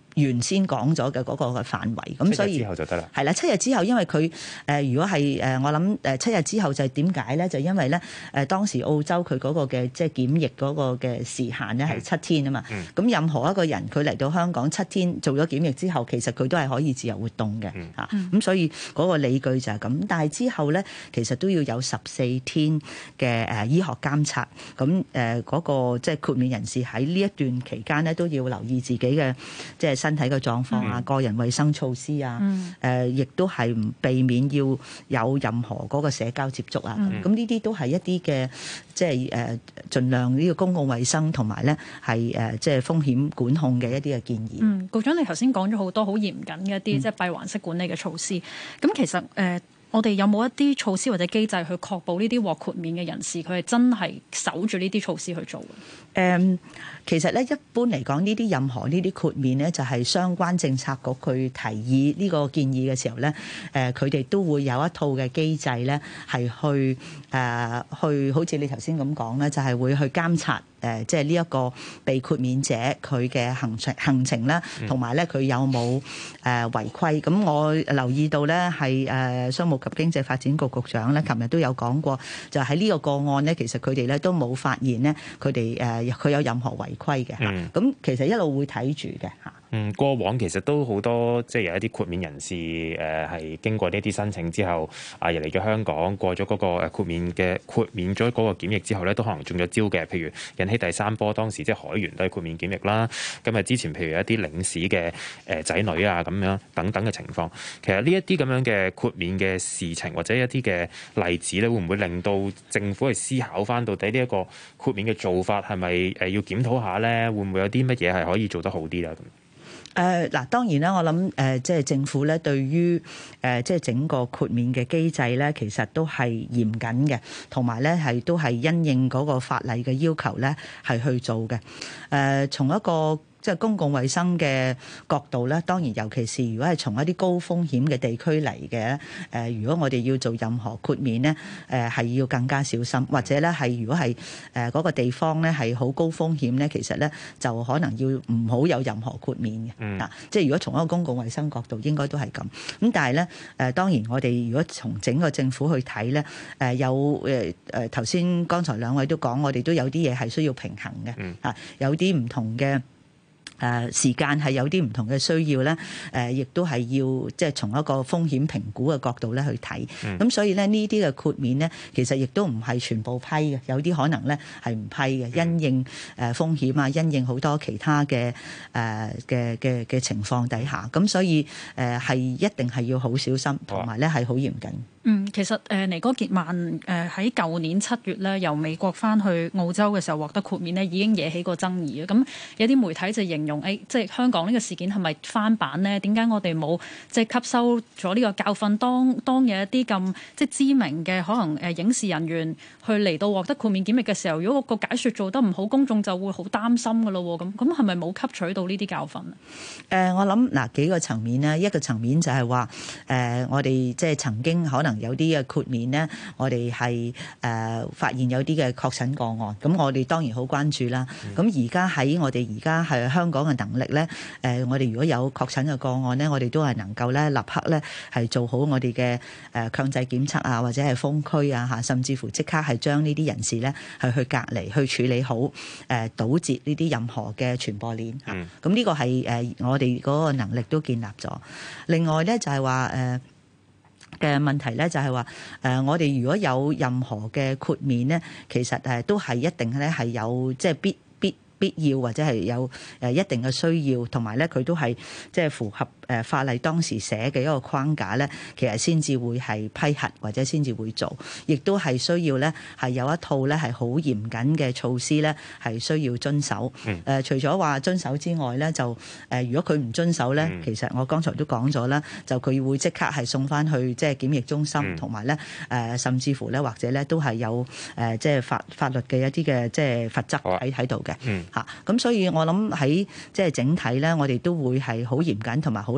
原先講咗嘅嗰個嘅範圍，咁所以之後就得啦。 係啦，七日之後，因為佢誒、呃、如果係誒、呃、我諗誒七日之後就係點解咧？就因為咧誒、呃、當時澳洲佢嗰個嘅即係檢疫嗰個嘅時限咧係七天啊嘛。咁、嗯、任何一個人佢嚟到香港七天做咗檢疫之後，其實佢都係可以自由活動嘅嚇。咁、嗯啊、所以嗰個理據就係咁。但係之後咧，其實都要有十四天嘅誒、呃、醫學監察。咁誒嗰個即係豁免人士喺呢一段期間咧，都要留意自己嘅即係身體嘅狀況啊、嗯、個人衛生措施啊，誒、嗯呃、亦都係唔避免要有任何嗰個社交接觸啊。咁呢啲都係一啲嘅即係誒盡量呢個公共衛生同埋咧係誒即係風險管控嘅一啲嘅建議。 嗯，局長你頭先講咗好多好嚴謹嘅一啲即係閉環式管理嘅措施，咁、嗯、其實誒。呃我哋有冇一啲措施或者機制去確保呢啲獲豁免嘅人士佢係真係守住呢啲措施去做？誒、 嗯，其實咧一般嚟講，呢啲任何呢啲豁免咧，就係相關政策局去提議呢個建議嘅時候咧，誒佢哋都會有一套嘅機制咧，係去誒、呃、去好似你頭先咁講咧，就係、是、會去監察。誒，即係呢一個被豁免者佢嘅行程行程啦，同埋咧佢有冇誒違規？咁我留意到咧係誒商務及經濟發展局局長咧，琴日都有講過，就喺呢個個案咧，其實佢哋咧都冇發現咧，佢哋誒佢有任何違規嘅嚇。咁、嗯、其實一路會睇住嘅嚇。 嗯，過往其實都好多，即係有一啲豁免人士誒係、呃、經過呢啲申請之後，啊入嚟咗香港，過咗嗰個誒豁免嘅豁免咗嗰個檢疫之後咧，都可能中咗招嘅。譬如引起第三波，當時即係海員都係豁免檢疫啦。咁啊之前譬如一啲領事嘅誒仔女啊咁樣等等嘅情況，其實呢一啲咁樣嘅豁免嘅事情或者一啲嘅例子咧，會唔會令到政府去思考翻到底呢一個豁免嘅做法係咪誒要檢討下咧？會唔會有啲乜嘢係可以做得好啲啦？咁誒嗱，當然啦，我諗誒，即係政府咧，對於誒即係整個豁免嘅機制咧，其實都係嚴謹嘅，同埋咧係都係因應嗰個法例嘅要求咧，係去做嘅。誒，從一個即係公共衛生嘅角度咧，當然尤其是如果係從一啲高風險嘅地區嚟嘅，誒，如果我哋要做任何豁免咧，誒係要更加小心，或者咧係如果係誒嗰個地方咧係好高風險咧，其實咧就可能要唔好有任何豁免嘅。嗯，啊，即係如果從一個公共衛生角度，應該都係咁。咁但係咧，誒當然我哋如果從整個政府去睇咧，誒有誒誒頭先剛才兩位都講，我哋都有啲嘢係需要平衡嘅。嗯，啊，有啲唔同嘅。誒、呃、時間係有啲唔同嘅需要咧，誒、呃、亦都係要即係從一個風險評估嘅角度咧去睇。咁、嗯、所以咧呢啲嘅豁免咧，其實亦都唔係全部批嘅，有啲可能咧係唔批嘅，因應誒風險啊，因應好多其他嘅誒嘅嘅嘅情況底下，咁所以誒係、呃、一定係要好小心，同埋咧係好嚴謹。 嗯，其實誒尼哥傑曼誒喺舊年七月咧由美國翻去澳洲嘅時候獲得豁免咧，已經惹起過爭議嘅。咁有啲媒體就形容誒、哎，即係香港呢個事件係咪翻版呢？點解我哋冇即係吸收咗呢個教訓？當當有一啲咁即係知名嘅可能誒影視人員去嚟到獲得豁免檢疫嘅時候，如果個解説做得唔好，公眾就會好擔心㗎咯。咁咁係咪冇吸取到呢啲教訓啊？ 誒、呃，我諗嗱幾個層面咧，一個層面就係話誒，我哋即係曾經可能有啲嘅豁免呢，我哋係誒發現有啲嘅確診個案，咁我哋當然好關注啦。咁而家喺我哋而家係香港嘅能力咧，誒我哋如果有確診嘅個案咧，我哋都係能夠咧立刻咧係做好我哋嘅誒強制檢測啊，或者係封區啊嚇，甚至乎即刻係將呢啲人士咧係去隔離，去處理好誒堵截呢啲任何嘅傳播鏈嚇。咁呢個係誒我哋嗰個能力都建立咗。另外咧就係話誒嘅問題咧就係話誒我哋如果有任何嘅豁免咧，其實誒都係一定咧係有即係必必必要或者係有誒一定嘅需要，同埋咧佢都係即係符合誒法例當時寫嘅一個框架咧，其實先至會係批核或者先至會做，亦都係需要咧係有一套咧係好嚴謹嘅措施咧係需要遵守。誒、嗯呃、除咗話遵守之外咧，就誒、呃、如果佢唔遵守咧，嗯、其實我剛才都講咗啦，就佢會即刻係送翻去即係檢疫中心，同埋咧誒甚至乎咧或者咧都係有誒即係法法律嘅一啲嘅即係罰則喺喺度嘅。嚇咁、嗯、所以我諗喺即係整體咧，我哋都會係好嚴謹同埋好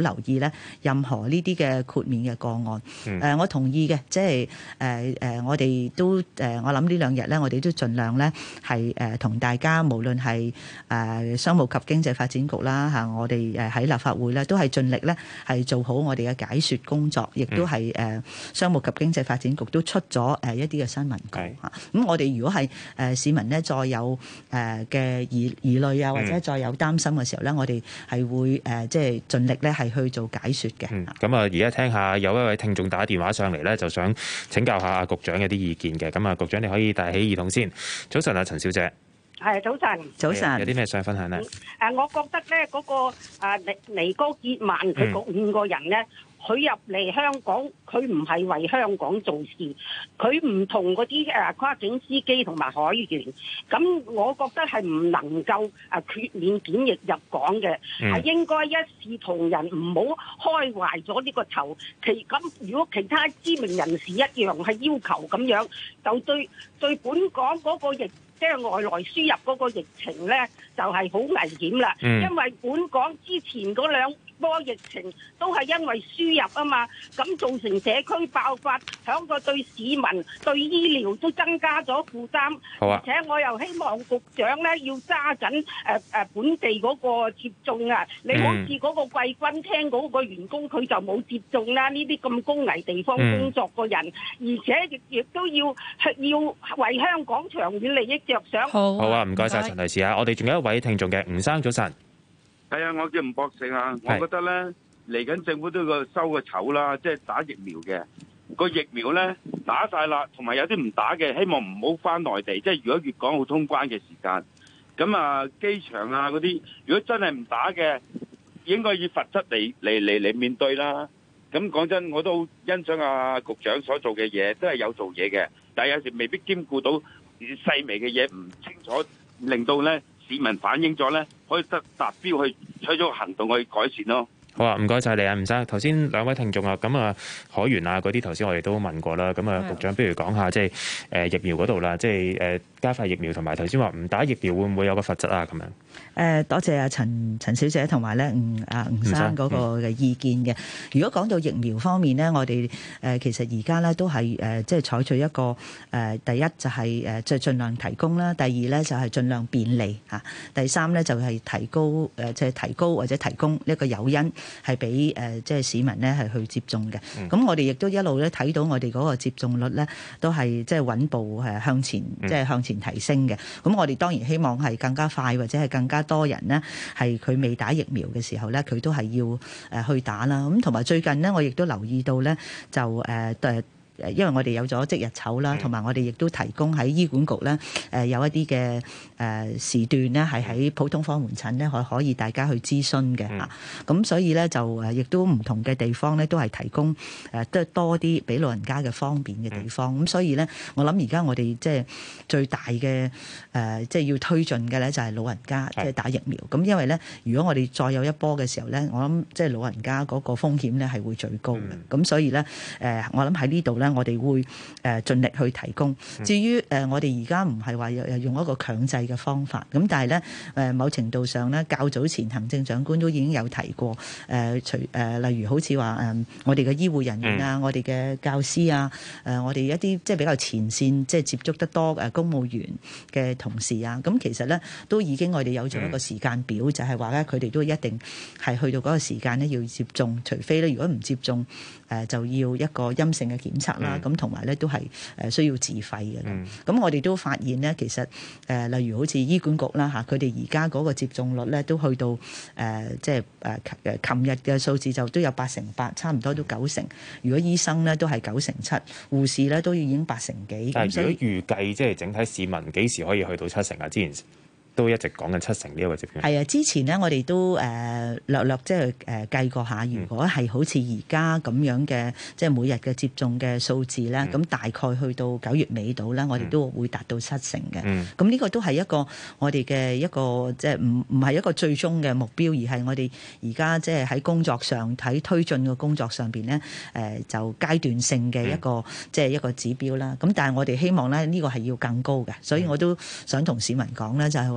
留意咧任何呢啲嘅豁免嘅個案。誒、 嗯呃，我同意嘅，即係誒誒，我哋都誒、呃，我諗呢兩日咧，我哋都盡量咧係誒同大家，無論係誒、呃、商務及經濟發展局啦嚇、啊，我哋誒喺立法會咧都係盡力咧係做好我哋嘅解説工作，亦都係誒、呃、商務及經濟發展局都出咗誒一啲嘅新聞稿嚇。咁、啊、我哋如果係誒、呃、市民咧再有誒嘅、呃、疑疑慮啊，或者再有擔心嘅時候咧，嗯、我哋係會誒、呃、即係盡力咧係去做解説嘅。 咁啊，而家聽下有一位聽眾打電話上嚟咧，就想請教下阿局長嘅啲意見嘅。咁啊，局長你可以帶起耳筒先。早晨啊，陳小姐。 係早晨， 早晨， 有啲咩想分享咧？ 誒、嗯，我覺得咧嗰、那個誒尼尼哥傑曼佢嗰五個人咧，佢入嚟香港，佢唔係為香港做事，佢唔同嗰啲誒跨境司機同埋海員，咁我覺得係唔能夠誒豁免檢疫入港嘅，係、嗯、應該一視同仁，唔好開壞咗呢個頭。其咁如果其他知名人士一樣係要求咁樣，就對對本港嗰個疫。即係外來輸入嗰個疫情咧，就係、是、好危險啦。嗯、因為本港之前嗰兩波疫情都係因為輸入啊嘛，咁造成社區爆發，響個對市民、對醫療都增加咗負擔。好啊、而且我又希望局長咧要揸緊誒誒本地嗰個接種啊！你好似嗰個貴賓廳嗰個員工佢就冇接種啦，呢啲咁高危地方工作嘅人，嗯、而且亦亦都要要為香港長遠利益着想。 好， 好啊，唔該晒陳女士啊！我哋仲有一位聽眾嘅，吳生早晨。 係啊，我叫吳博勝啊，我覺得咧嚟緊政府都要收個籌啦，即係打疫苗嘅個疫苗咧打晒啦，同埋有啲唔打嘅，希望唔好翻內地。即係如果粵港澳通關嘅時間，咁啊機場啊嗰啲，如果真係唔打嘅，應該以罰則嚟嚟嚟嚟面對啦。咁講真，我都好欣賞啊局長所做嘅嘢，都係有做嘢嘅，但係有時未必兼顧到細微嘅嘢，唔清楚，令到咧市民反映咗咧，可以得達標去採咗行動去改善咯。 好啊，唔該晒你啊，吳生。頭先兩位聽眾啊，咁啊海員啊嗰啲，頭先我哋都問過啦。咁啊，局長不如講下即係誒疫苗嗰度啦，即係誒加快疫苗同埋頭先話唔打疫苗會唔會有個罰則啊？咁樣誒，多謝阿陳陳小姐同埋咧吳啊吳生嗰個嘅意見嘅。如果講到疫苗方面咧，我哋誒其實而家咧都係誒即係採取一個誒第一就係誒即係盡量提供啦，第二咧就係盡量便利嚇，第三咧就係提高誒即係提高或者提供一個誘因。係俾誒即係市民咧係去接種嘅，咁、嗯、我哋亦都一路咧睇到我哋嗰個接種率咧都係即係穩步誒向前，即係、嗯、向前提升嘅。咁我哋當然希望係更加快或者係更加多人呢，係佢未打疫苗嘅時候咧，佢都係要誒去打啦。咁同埋最近呢，我亦都留意到咧，就誒誒。呃因為我哋有咗即日籌啦，同埋我哋亦都提供喺醫管局咧，誒有一啲嘅誒時段咧，係喺普通科門診咧，可可以大家去諮詢嘅嚇。咁、嗯、所以咧就誒亦都唔同嘅地方咧，都係提供誒都係多啲俾老人家嘅方便嘅地方。咁、嗯、所以咧，我諗而家我哋即係最大嘅誒，即係要推進嘅咧，就係老人家即係打疫苗。咁因為咧，如果我哋再有一波嘅時候咧，我諗即係老人家嗰個風險咧係會最高嘅。咁、嗯、所以咧誒，我諗喺呢度咧。我哋會誒盡力去提供。至於誒，我哋而家唔係話用一個強制嘅方法，咁但係咧誒，某程度上咧，較早前行政長官都已經有提過誒，除誒例如好似話誒，我哋嘅醫護人員啊，我哋嘅教師啊，誒，我哋一啲即係比較前線，即係接觸得多誒公務員嘅同事啊，咁其實咧都已經我哋有咗一個時間表，就係話咧佢哋都一定係去到嗰個時間咧要接種，除非咧如果唔接種誒就要一個陰性嘅檢測啦。咁同埋咧都係誒需要自費嘅。咁、嗯、我哋都發現咧，其實誒、呃、例如好似醫管局啦嚇，佢哋而家嗰個接種率咧都去到誒、呃、即係誒誒琴日嘅數字就都有八成八，差唔多都九成。如果醫生咧都係九成七，護士咧都已經八成幾。 但係如果預計即係整體市民幾時可以去到七成啊？之前都一直講緊七成呢一個接種。 係啊，之前咧我哋都誒、呃、略略即係誒計過下，如果係好似而家咁樣嘅，即係每日嘅接種嘅數字咧，咁、嗯、大概去到九月尾度咧，我哋都會達到七成嘅。咁呢、嗯、個都係一個我哋嘅一個即係唔唔係一個最終嘅目標，而係我哋而家即係喺工作上喺推進嘅工作上邊咧，誒、呃、就階段性嘅一個、嗯、即係一個指標啦。咁但係我哋希望咧呢個係要更高嘅，所以我都想同市民講咧，就係話。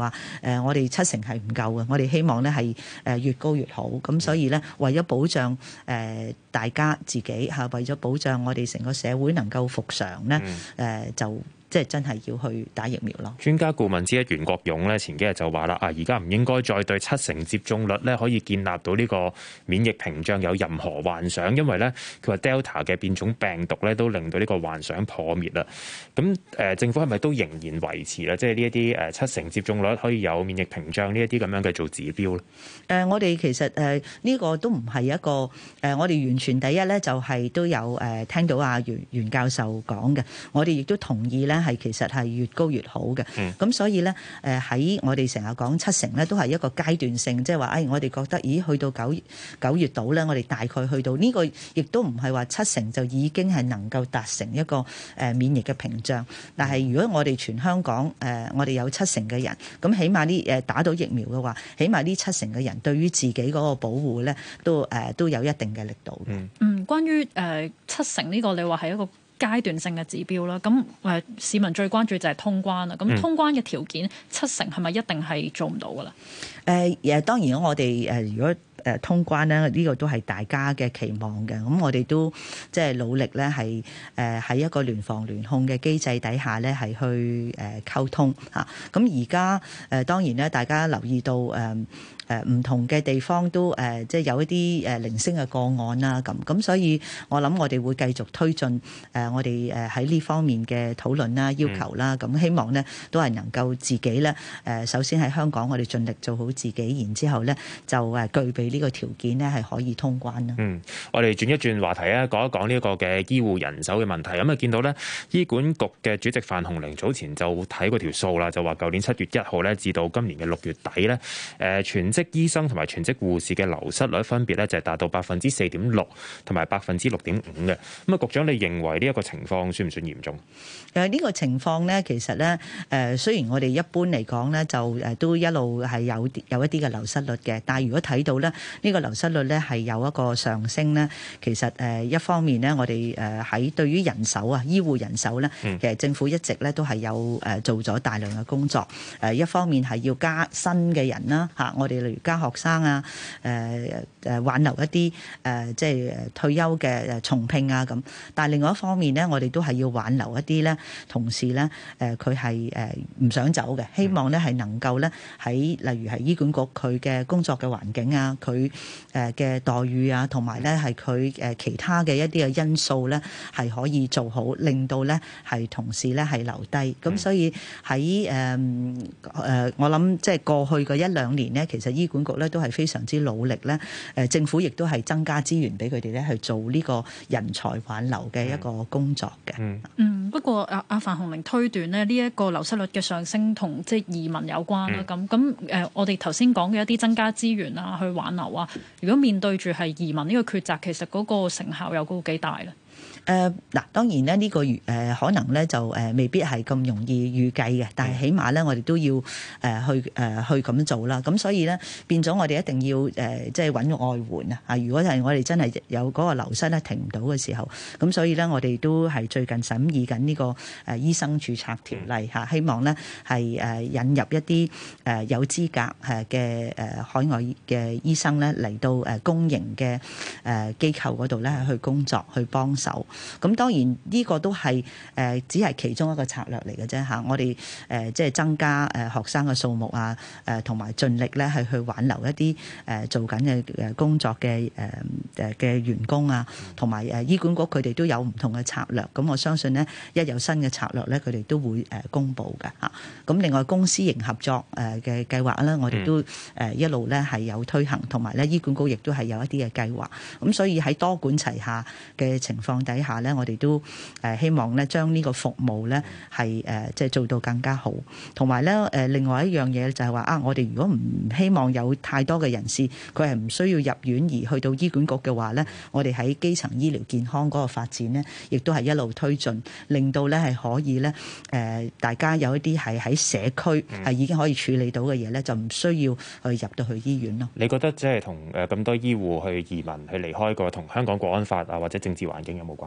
話誒，我哋七成係唔夠嘅，我哋希望咧係誒越高越好。咁所以咧，為咗保障誒大家自己嚇，為咗保障我哋成個社會能夠復常咧，誒就。即係真係要去打疫苗咯。 專家顧問之一袁國勇咧，前幾日就話啦，啊而家唔應該再對七成接種率咧可以建立到呢個免疫屏障有任何幻想，因為咧佢話 Delta 嘅變種病毒咧都令到呢個幻想破滅啦。咁誒、呃、政府係咪都仍然維持啦？即係呢一啲誒七成接種率可以有免疫屏障呢一啲咁樣嘅做指標咧？誒、 呃，我哋其實誒呢、呃這個都唔係一個誒、呃，我哋完全第一咧就係、是、都有誒、呃、聽到阿袁袁教授講嘅，我哋亦都同意咧。係其實係越高越好嘅，咁、嗯、所以咧誒喺我哋成日講七成咧，都係一個階段性，即係話誒我哋覺得，咦去到九九月度咧，我哋大概去到呢、這個，亦都唔係話七成就已經係能夠達成一個誒免疫嘅屏障。但係如果我哋全香港誒、呃、我哋有七成嘅人，咁起碼呢誒打到疫苗嘅話，起碼呢七成嘅人對於自己嗰個保護咧，都誒、呃、都有一定嘅力度。 嗯，嗯關於誒、呃、七成呢個，你話係一個階段性嘅指標啦，咁誒、呃、市民最關注就係通關啦。咁通關嘅條件、嗯、七成係咪一定係做唔到噶啦？ 誒誒、呃，當然我哋誒、呃、如果誒通關咧，呢、這個都係大家嘅期望嘅。咁我哋都即係努力咧，係誒喺一個聯防聯控嘅機制底下咧，係去誒溝通嚇。咁而家誒當然咧，大家留意到誒誒唔同嘅地方都誒即係有一啲誒零星嘅個案啦。咁咁所以我諗我哋會繼續推進誒我哋誒喺呢方面嘅討論啦、要求啦。咁、嗯、希望咧都係能夠自己咧誒首先喺香港我哋盡力做好自己，然之後咧就誒具備呢個條件咧係可以通關啦。 嗯，我哋轉一轉話題啊，講一講呢一個嘅醫護人手嘅問題。咁啊，見到咧醫管局嘅主席范鴻齡早前就睇過條數啦，就話舊年七月一號咧至到今年嘅六月底咧，誒全職醫生同埋全職護士嘅流失率分別咧就係達到百分之四點六同埋百分之六點五嘅。咁啊，局長你認為呢一個情況算唔算嚴重？ 誒呢個情況咧，其實咧誒雖然我哋一般嚟講咧就誒都一路係有有一啲嘅流失率嘅，但係如果睇到咧呢個流失率咧係有一個上升咧，其實誒一方面咧我哋誒喺對於人手啊醫護人手咧，其實政府一直咧都係有誒做咗大量嘅工作。誒一方面係要加新嘅人啦嚇，我哋例如加學生啊，誒誒挽留一啲誒即係退休嘅誒重聘啊咁。但係另外一方面咧，我哋都係要挽留一啲咧同事咧，誒佢係誒唔想走嘅，希望咧係能夠咧喺例如係醫管局佢嘅工作嘅環境啊，佢誒嘅待遇啊，同埋咧係佢誒其他嘅一啲嘅因素咧係可以做好，令到咧係同事咧係留低。咁、嗯、所以喺誒誒我諗即係過去嘅一兩年咧，其實醫管局咧都係非常之努力咧，誒政府亦都係增加資源俾佢哋咧去做呢個人才挽留嘅一個工作嘅。 嗯，嗯，不過阿阿范鴻齡推斷咧，呢一個流失率嘅上升同即係移民有關啦。咁咁誒，我哋頭先講嘅一啲增加資源啊，去挽留啊，如果面對住係移民呢個抉擇，其實嗰個成效有高幾大咧？ 誒嗱、呃，當然咧呢、這個誒、呃、可能咧就誒、呃、未必係咁容易預計嘅，但係起碼咧我哋都要誒、呃、去誒、呃、去咁做啦。咁所以咧變咗我哋一定要誒、呃、即係揾外援啊！啊，如果係我哋真係有嗰個流失咧停唔到嘅時候，咁所以咧我哋都係最近審議緊呢個誒醫生註冊條例嚇，希望咧係誒引入一啲誒有資格誒嘅誒海外嘅醫生咧嚟到誒公營嘅誒機構嗰度咧去工作去幫手。咁當然呢個都係誒、呃、只係其中一個策略嚟嘅啫嚇，我哋誒、呃、即係增加誒學生嘅數目啊，誒同埋盡力咧係去挽留一啲誒、呃、做緊嘅誒工作嘅誒誒嘅員工啊，同埋誒醫管局佢哋都有唔同嘅策略。咁我相信咧一有新嘅策略咧，佢哋都會誒公布嘅嚇。咁另外公私營合作誒嘅計劃咧，我哋都誒一路咧係有推行，同埋咧醫管局亦都係有一啲嘅計劃。咁所以喺多管齊下嘅情況底下咧，我哋都誒希望咧將呢個服務咧係誒即係做到更加好，同埋咧誒另外一樣嘢就係話啊，我哋如果唔希望有太多嘅人士佢係唔需要入院而去到醫管局嘅話咧，我哋喺基層醫療健康嗰個發展咧，亦都係一路推進，令到咧係可以咧誒大家有一啲係喺社區係已經可以處理到嘅嘢咧，就唔需要去入到去醫院咯。 你覺得即係同誒咁多醫護去移民去離開個同香港國安法啊或者政治環境有冇關？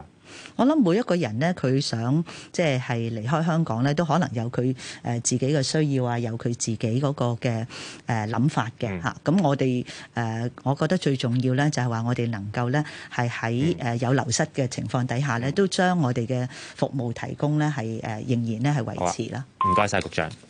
我諗每一個人咧，佢想即係係離開香港咧，都可能有佢誒自己嘅需要啊，有佢自己嗰個嘅誒諗法嘅嚇。咁、嗯、我哋誒，我覺得最重要咧，就係話我哋能夠咧係喺誒有流失嘅情況底下咧，都將我哋嘅服務提供咧係誒仍然咧係維持啦。 唔該晒局長。